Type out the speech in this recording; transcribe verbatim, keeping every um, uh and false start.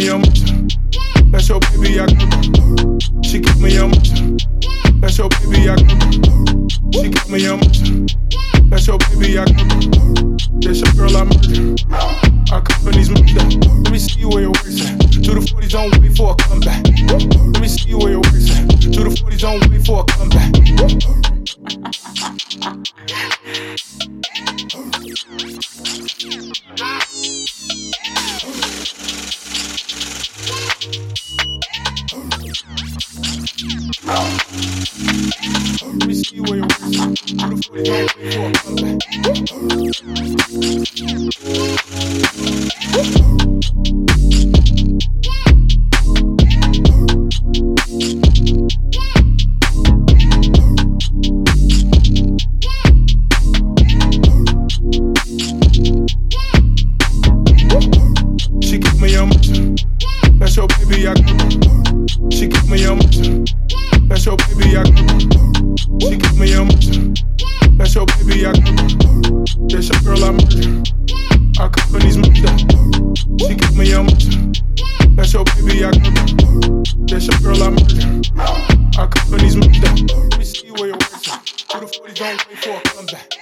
me on. That's your baby, I come. She keep me on. That's your baby, I come. She keep me on. That's your baby, I come. That's your girl, I murder. Our company's moved up. Let me see where your work's at. To the forties on way for a comeback. Let me see where your work's at. To the forties on way for a comeback. Let me see where your work's at. To the forties on way for a comeback. She keep me on. That's your baby, I come. She keep me on. That's your baby, I come. She keep me on. That's your baby, I come. That's your girl, I murder. Our company's moved up. She keep me on. That's your baby, I come. That's your girl, I murder. Our company's moved up. Let me see where your work's at. To the forties on way for a comeback.